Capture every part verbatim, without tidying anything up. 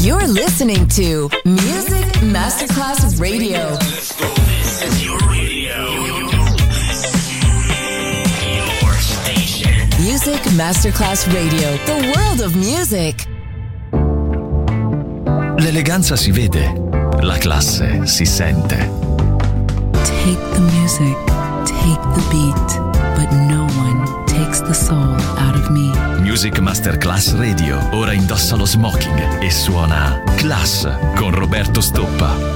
You're listening to Music Masterclass Radio. Let's go. This is your radio. Your station. Music Masterclass Radio. The world of music. L'eleganza si vede, la classe si sente. Take the music, take the beat, but no one takes the soul out of me. Music Masterclass Radio ora indossa lo smoking e suona Class con Roberto Stoppa.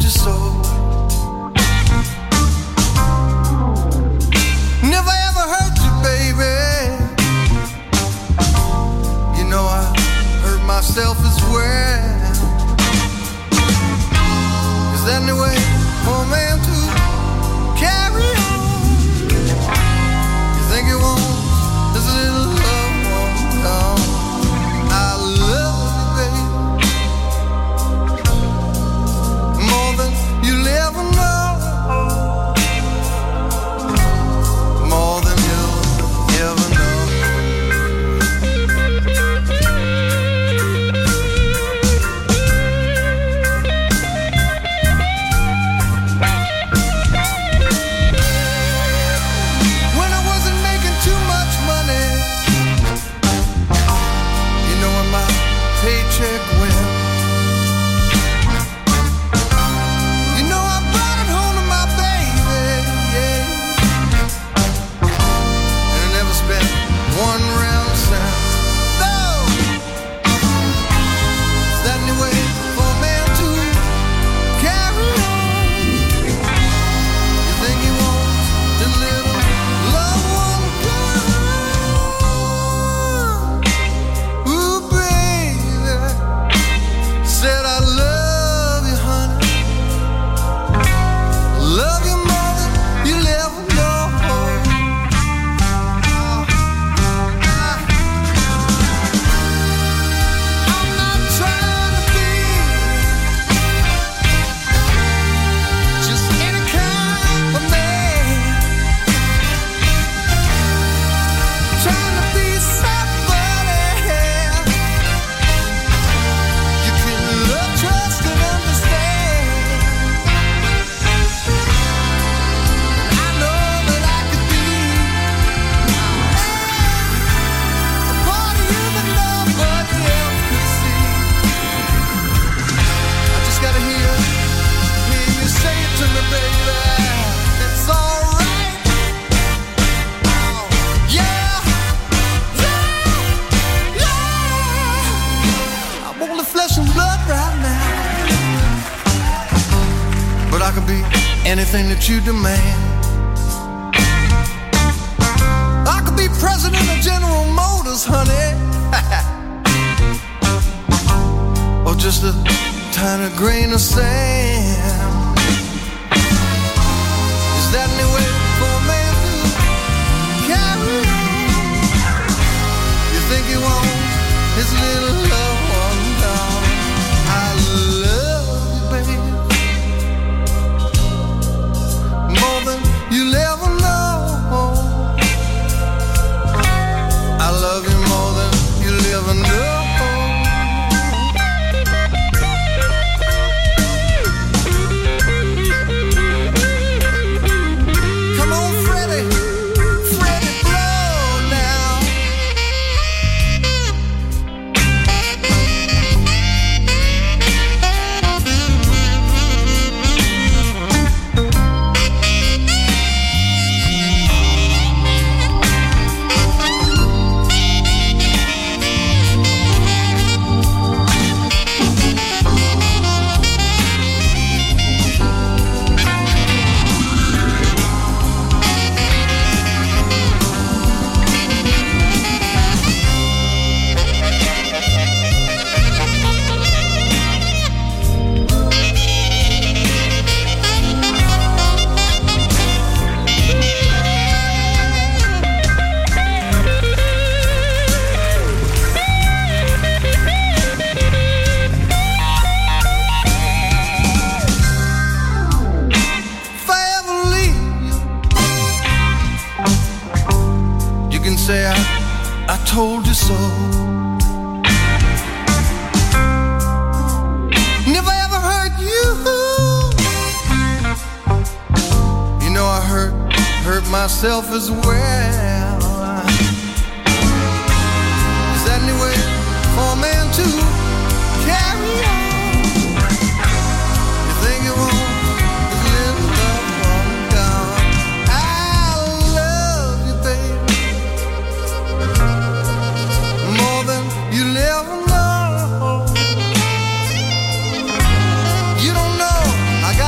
you so. Never ever hurt you, baby. You know I hurt myself as well. Is that any way for a man to carry on? You think you want this little love won't come? I love you, baby, more than you'll ever know, more than you'll ever know. When I wasn't making too much money, you know when my paycheck went, you know I brought it home to my baby, yeah. And I never spent one round cent. No, is that any way for a man to carry on? You think he wants his little loved one gone? Ooh, baby, said I love you, honey. Love you more than you'll ever know. I'm not trying to be just any kind of man. Trying to be somebody you can love, trust, and understand. I know that I could be a part of you that nobody else could see. I just gotta hear, hear you say it to me, baby. It's alright. Oh, yeah, yeah, yeah. I'm only flesh and blood right now, but I can be anything that you demand. I could be president of General Motors, honey. Or just a tiny grain of sand. Is that any way for a man to carry on? You think he wants his little love one down? I love you, baby, more than you'll ever know. I love you more than you'll ever know. Come on, Freddie, Freddie, blow now. If I ever leave you, you can say I, I told you so. Never ever hurt you. You know I hurt, hurt myself as well. Is that any way for a man to carry on? You think you want his little love one gone? I love you, baby, more than you'll ever know. You don't know I got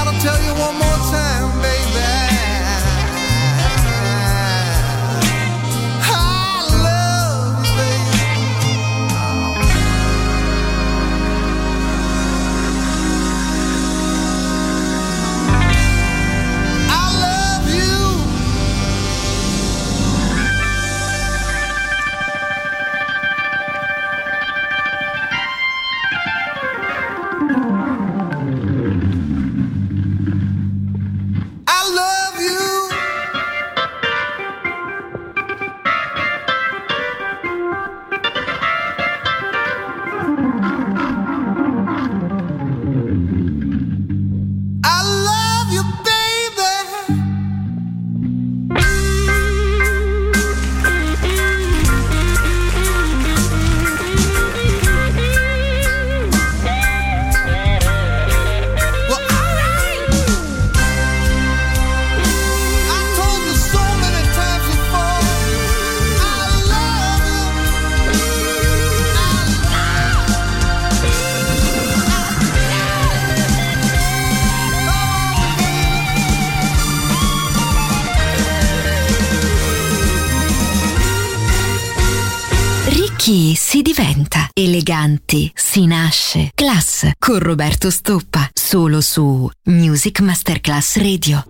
Chi si diventa? Eleganti si nasce. Class con Roberto Stoppa. Solo su Music Masterclass Radio.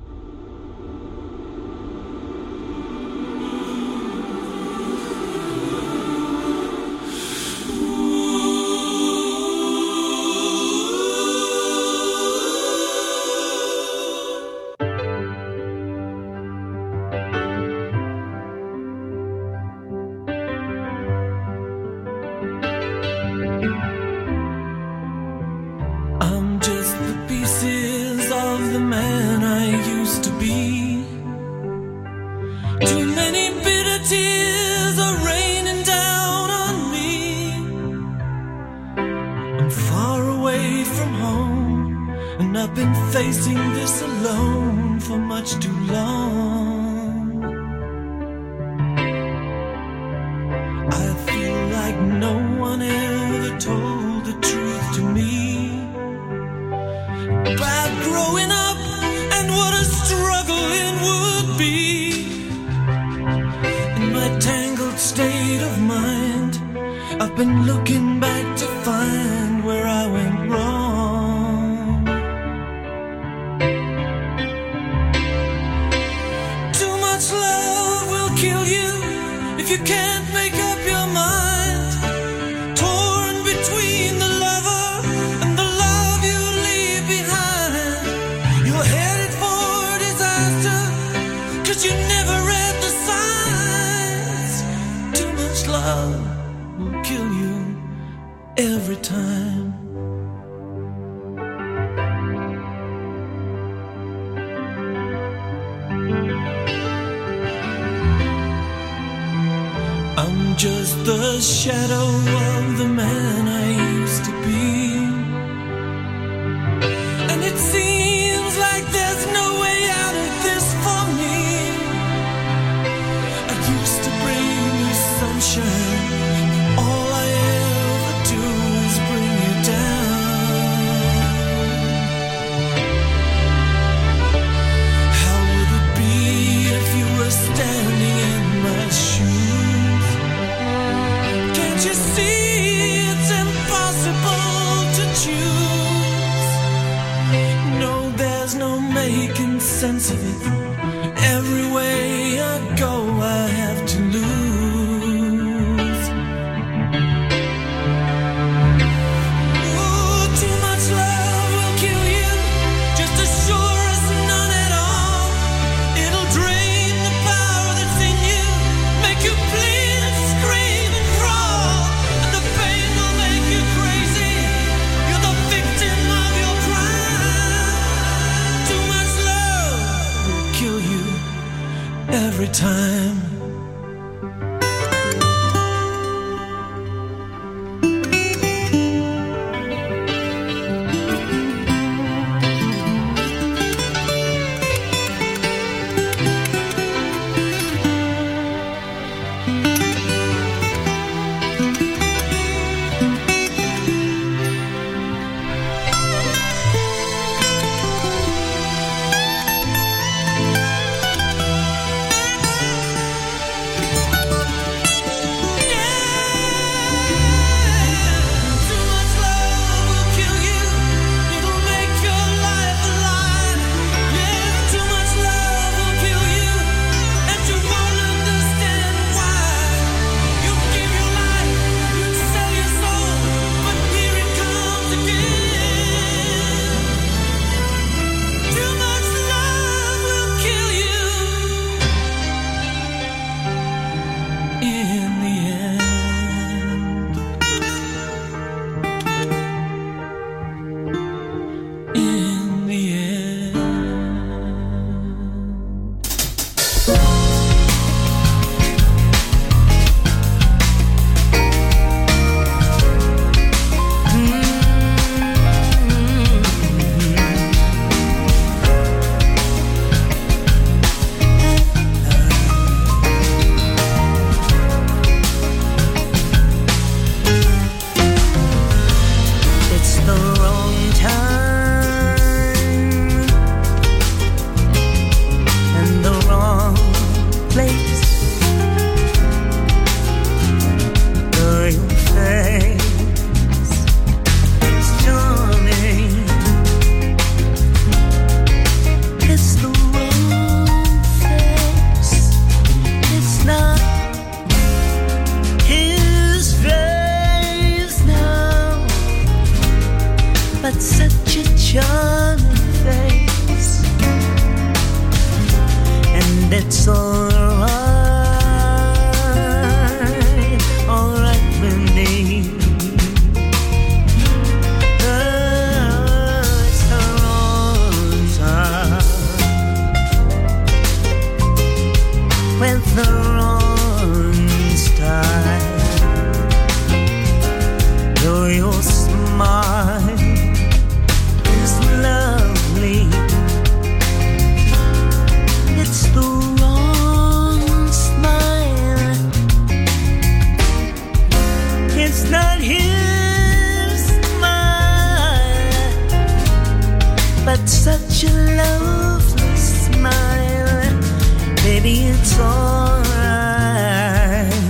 such a lovely smile. Baby, it's alright,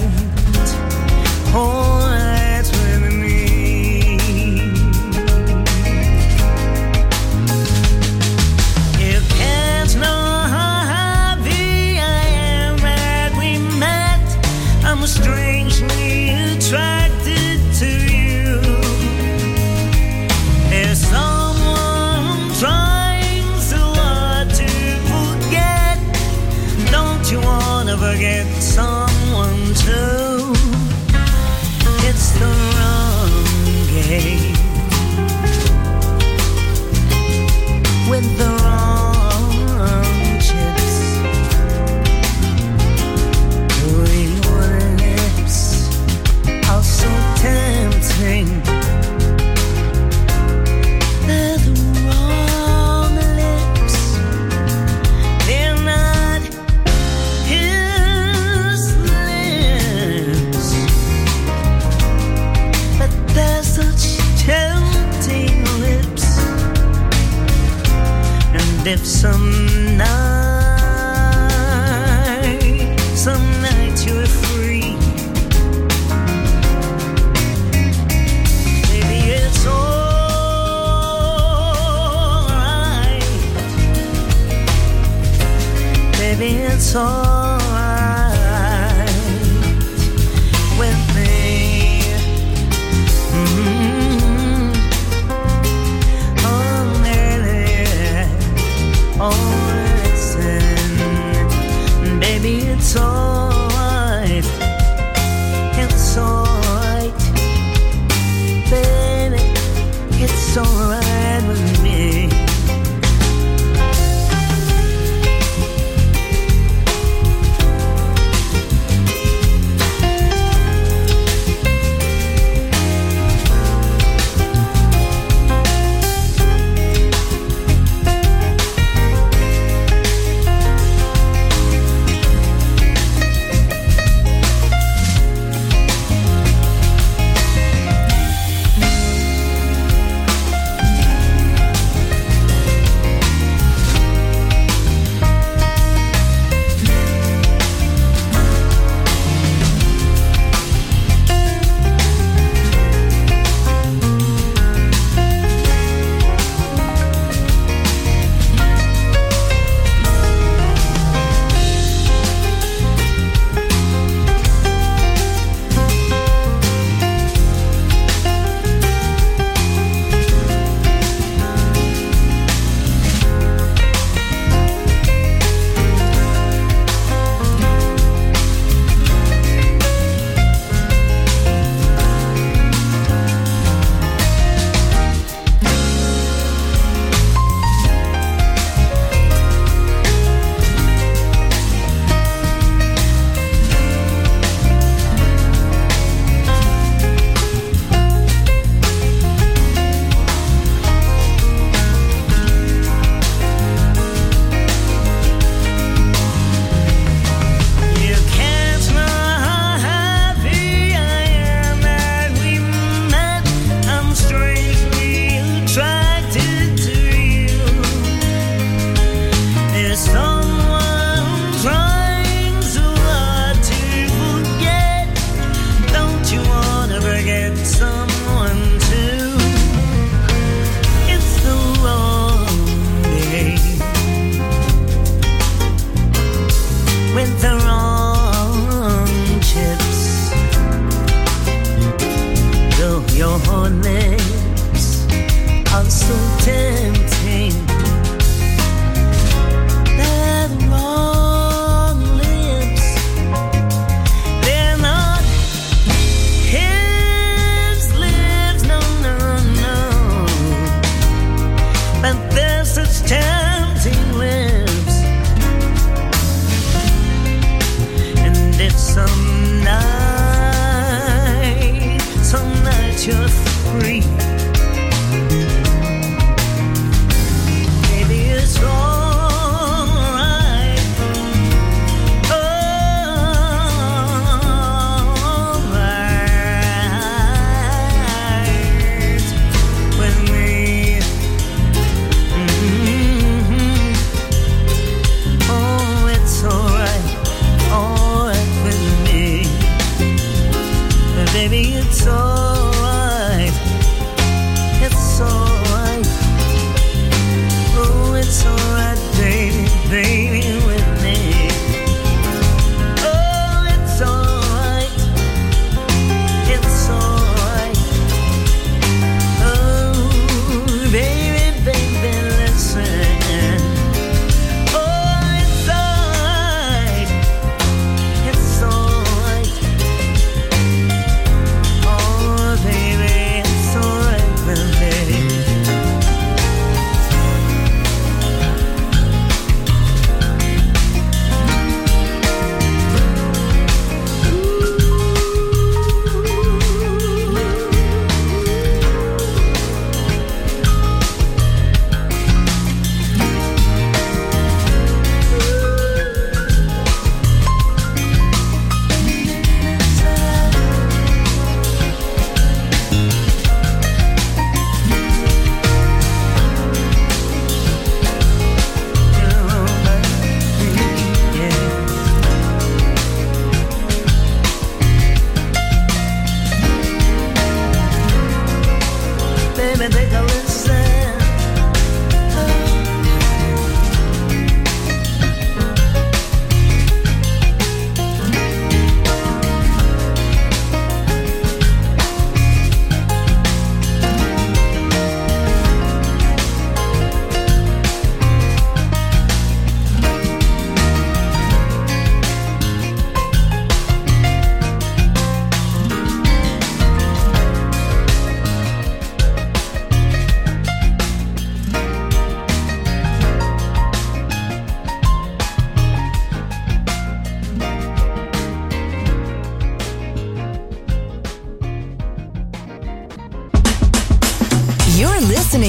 alright with me. You can't know how happy I am that we met. I'm strangely attracted to you. There's someone trying so hard to forget. Don't you wanna forget someone too? It's the wrong game with the wrong chips. Your lips are so tempting. They're the wrong lips. They're not his lips, but they're such tempting lips. And if some night, some night you're free, maybe it's alright. Maybe it's alright with me. Mm-hmm. Oh, baby, oh, listen, baby, it's alright. It's alright, baby, it's alright with me.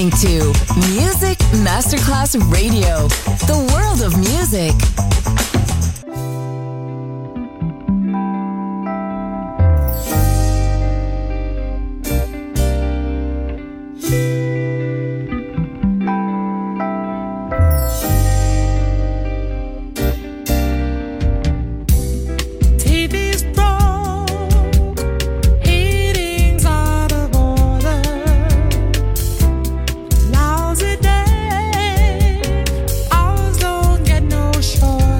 listening to Music Masterclass Radio, the world of music. Lousy day, hours don't get no shorter.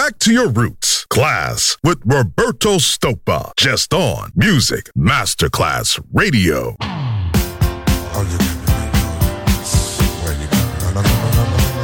Back to your roots. Class with Roberto Stoppa. Just on Music Masterclass Radio. Oh, you where you go? No, no, no, no, no, no, no.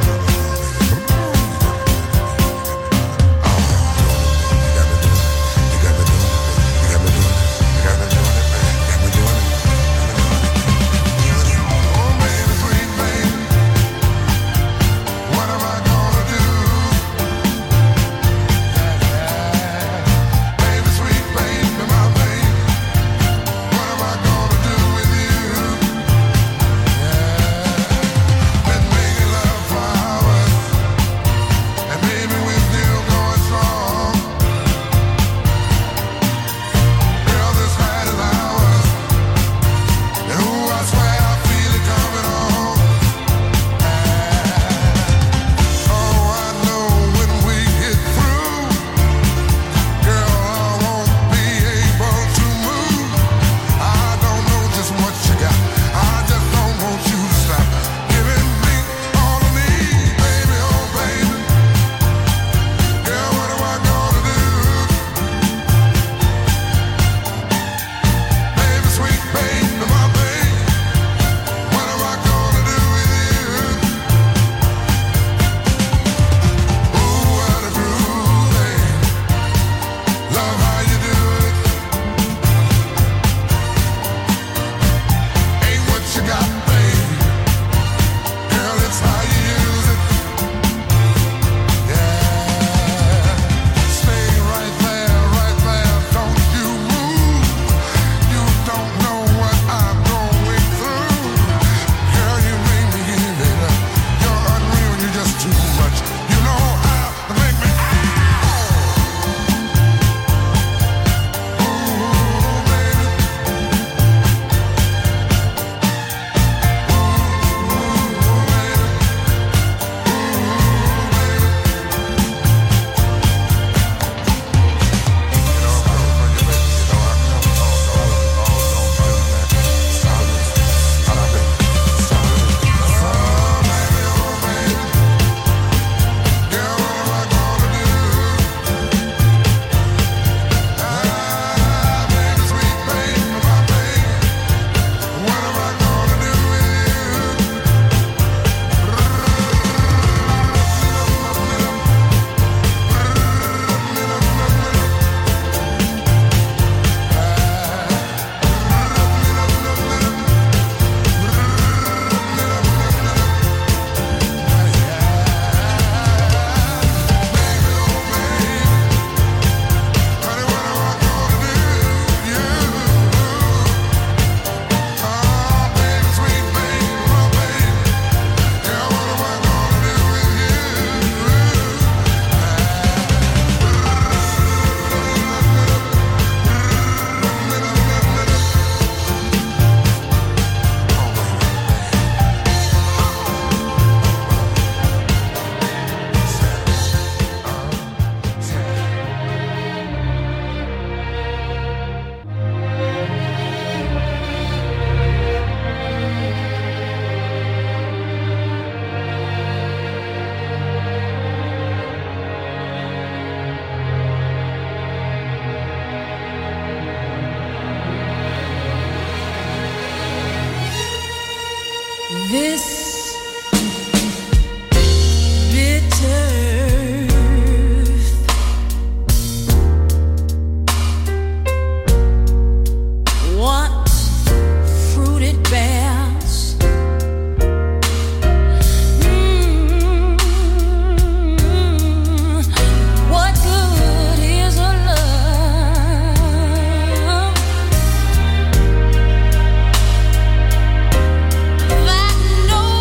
This bitter what fruit it bears. Mm, what good is a love that knows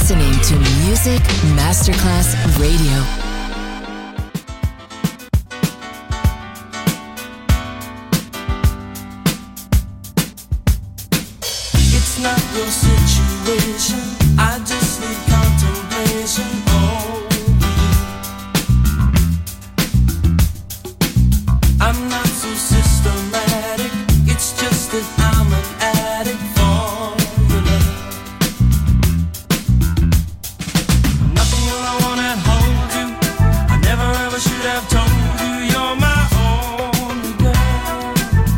listening to Music Masterclass Radio. It's not your situation. I just need contemplation. Oh, I'm not so systematic. It's just that I'm an addict for your love. Nothing all I wanna hold you. I never ever should have told you you're my only girl.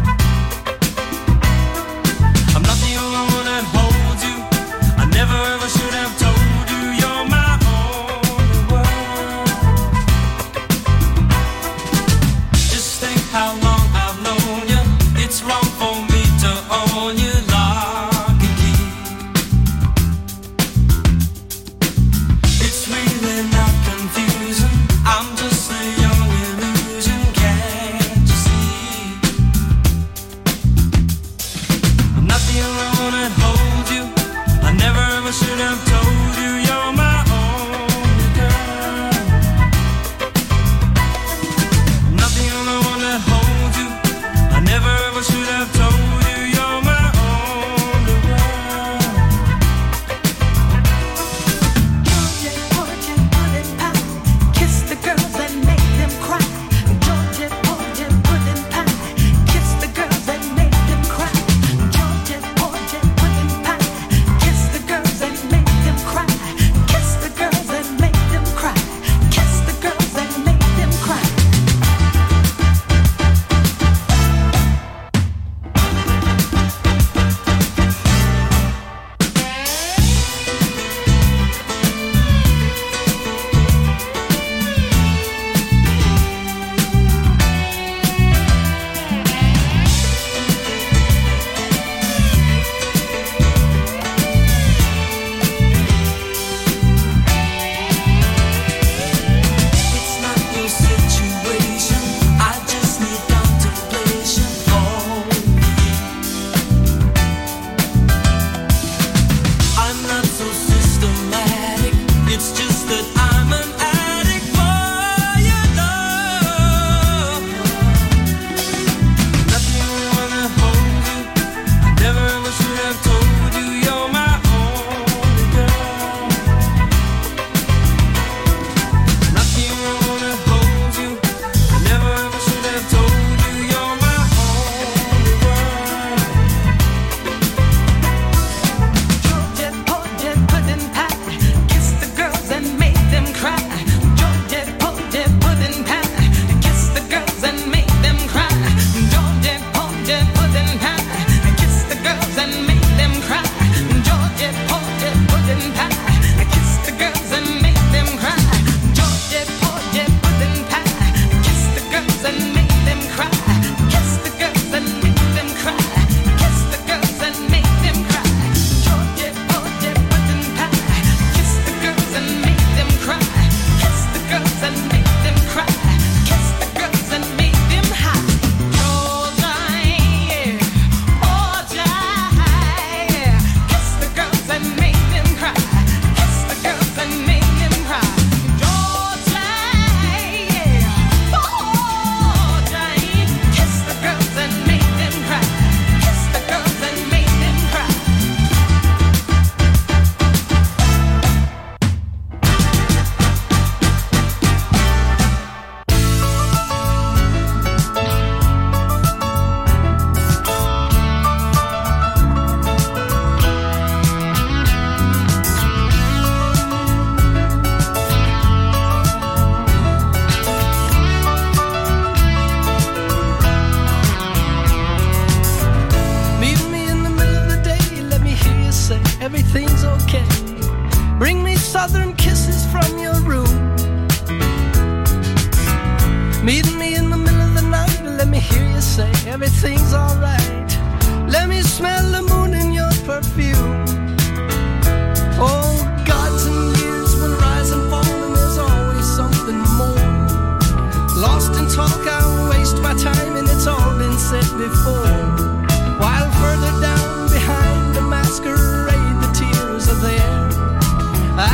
I'm not the only one that holds you. I never ever should have told you you're my only world. Just think how long I've known you. It's wrong for me to own you lock and key. It's really not confusing. I'm just a young illusion, can't you see? I'm not the only one that holds you. I never ever should have told you you're my only girl. I'm not the only one that holds you. I never ever should have told you you're my only world. Georgia, Georgia, pudding pie. Kiss the girls and make them cry. Georgia, Georgia, pudding pie. Kiss the girls and make them cry. Georgia, Georgia, pudding pie. Kiss the girls and make them cry. Kiss the girls and make them cry. Kiss the girls and make them cry. It's not your situation. I just need contemplation. Oh, I'm not so systematic. It's just that I'm an addict for your love. Not the only one that holds you. I never ever should have told you you're my only girl. Not the only one that holds you. I never ever should have told you you're my only world. Georgia, Georgia, pudding pie. Kiss the girls and make them cry. Georgia, Georgia, pudding pie. Kiss the girls and make them cry. Georgia, Georgia, pudding pie. Kiss the girls and make them cry. Georgia, Georgia, pudding pie. Kiss the girls and make them cry. Georgia, Georgia, pudding pie. Kiss the girls and make them cry. Kiss the girls and make them cry. Kiss the girls and make them cry. Georgia, Georgia, pudding pie. Kiss the girls and make them cry. Kiss the girls and make them cry. Kiss the girls and make them high. Georgia, yeah. Georgia, yeah. Kiss the girls and make them cry. Kiss the girls and make them cry. Georgia, yeah. Georgia, kiss the girls and make them cry. Kiss the girls and make them cry. Meet me in the middle of the day, let me hear you say everything's okay. Bring me southern kisses from your room. Meet me in the middle of the night, let me hear you say everything's alright. Let me smell the moon in your perfume. Oh, gods and years will rise and fall, and there's always something more. Lost in talk, I waste my time, and it's all been said before. While further down behind the masquerade, the tears are there.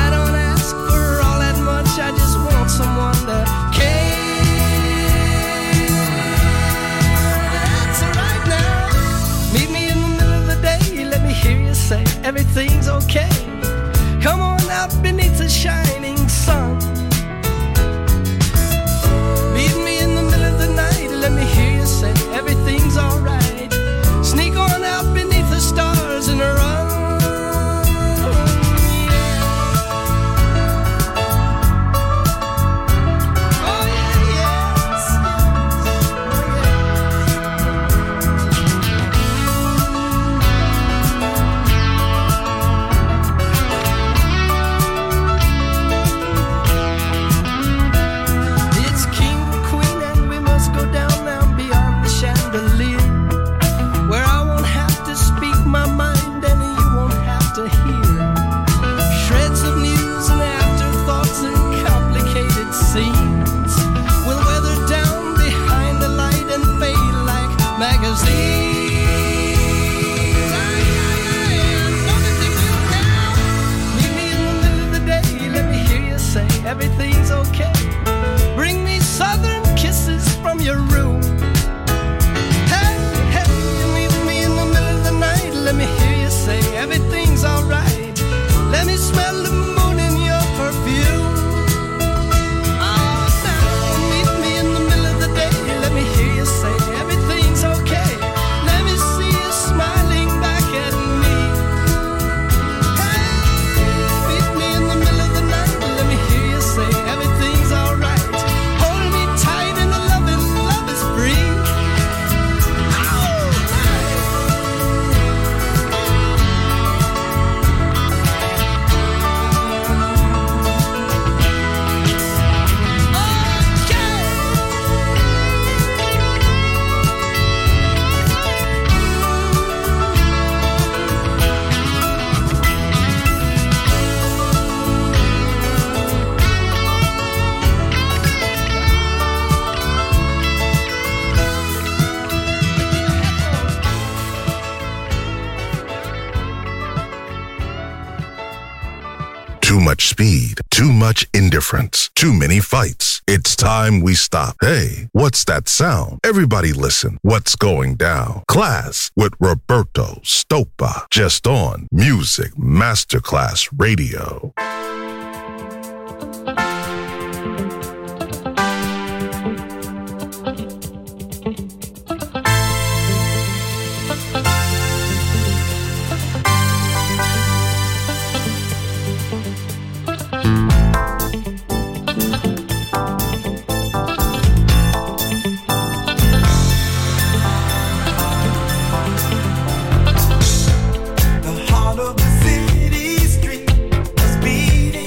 magazines. Aye, aye, aye, don't it take you down? Meet me in the middle of the day, let me hear you say everything's okay. Bring me southern kisses from your room. Hey, hey, you meet me in the middle of the night, let me hear you say everything's alright. Let me smell the moon in your perfume. Oh, now meet me in the middle of the day, let me hear you say everything's okay. Let me see you smiling back at me. Hey, meet me in the middle of the night, let me hear you say everything's alright. Hold me tight and the loving love is free. Too much speed, too much indifference, too many fights. It's time we stop. Hey, what's that sound? Everybody listen. What's going down? Class with Roberto Stoppa. Just on Music Masterclass Radio. The heart of the city street was beating.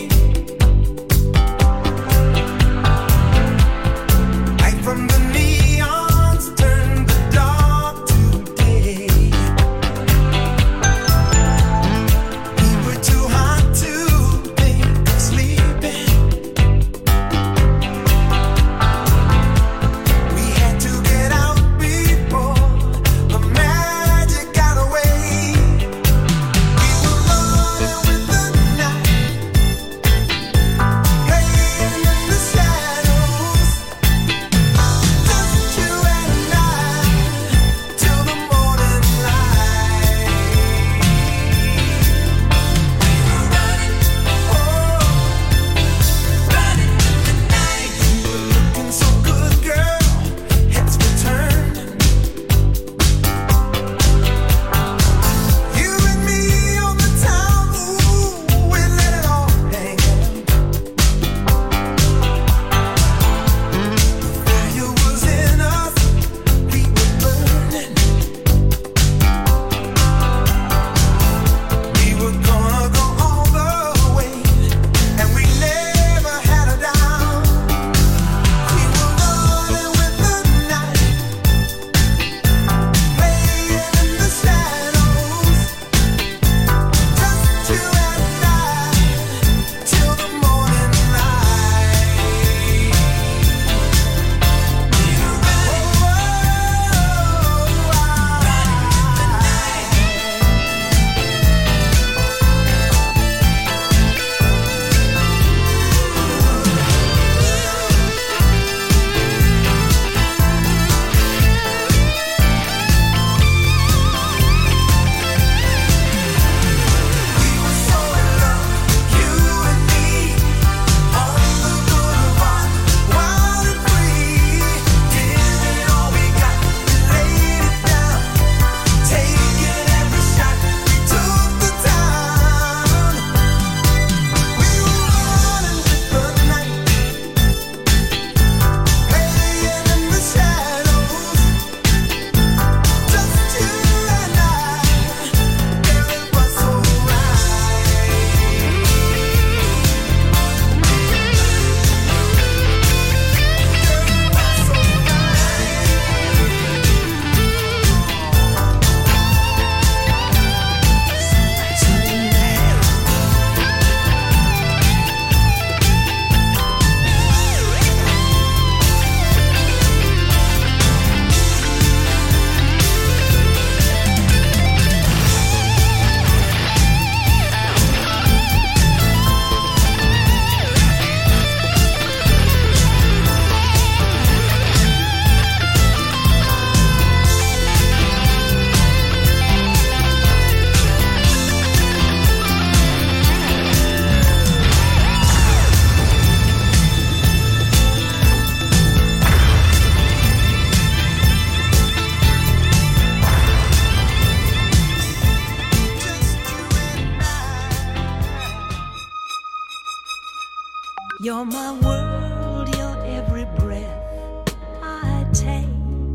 You're my world, you're every breath I take.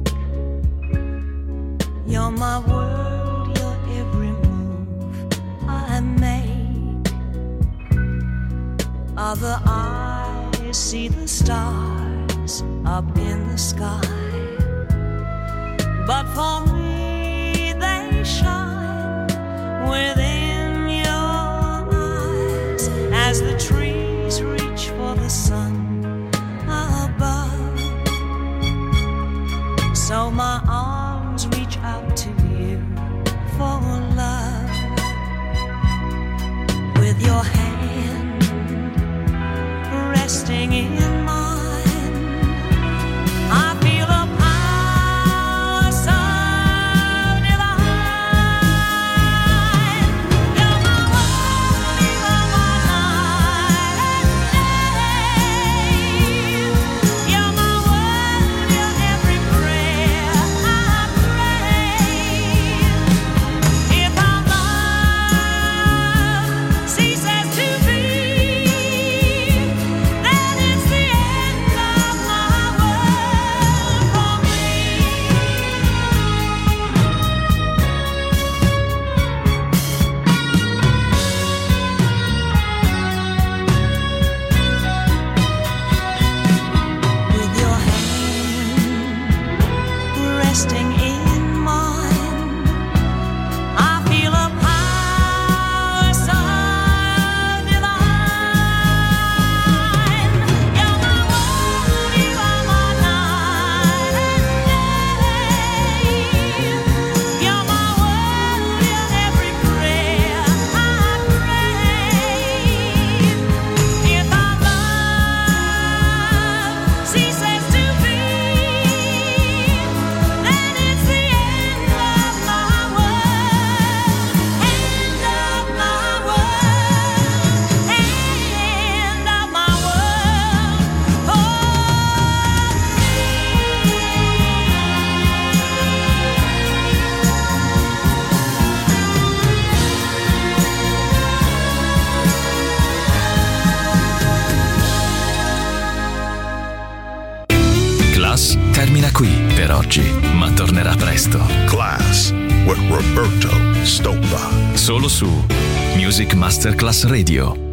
You're my world, you're every move I make. Other eyes see the stars up in the sky, but for me they shine within your eyes as the trees reach for the sun above. So my arms reach out to you for love. With your hand resting in mine, I feel a power so divine. You're my world, you're my night and day. You're my world, you're every prayer I pray. If our love ceases to be, then it's the end of my world for me. With your hand resting in mine, I feel a power so divine. You're my world, you are my night and day. You're my world, you're every prayer I pray. If our love ceases to be, then it's the end of my world, end of my world, end of my world for Class termina qui per oggi, ma tornerà presto. Class with Roberto Stoppa. Solo su Music Masterclass Radio.